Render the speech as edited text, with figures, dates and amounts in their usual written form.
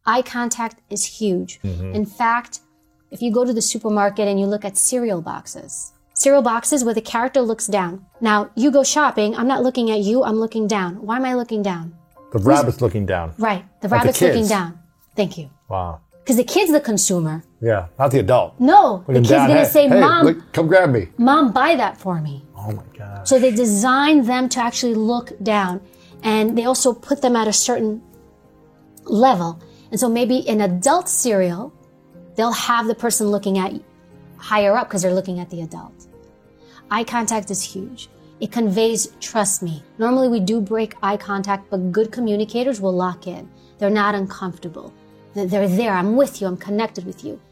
Eye contact is huge. In fact, if you go to the supermarket and you look at cereal boxes where the character looks down. Now, you go shopping, I'm not looking at you, I'm looking down. Why am I looking down? The rabbit's looking down. Right, the Like rabbit's the kids. looking down. Thank you. Wow. Because the kid's the consumer. Yeah, not the adult. No, the Looking kid's down. going to Hey, say, hey, Mom, look, come grab me. Mom, buy that for me. Oh my God. So they design them to actually look down. And they also put them at a certain level. And so maybe in adult cereal, they'll have the person looking at higher up because they're looking at the adult. Eye contact is huge. It conveys, trust me. Normally we do break eye contact, but good communicators will lock in. They're not uncomfortable. They're there. I'm with you. I'm connected with you.